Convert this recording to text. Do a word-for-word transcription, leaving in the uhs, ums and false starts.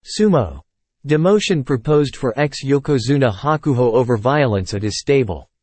Sumo. Demotion proposed for ex-Yokozuna Hakuho over violence at his stable.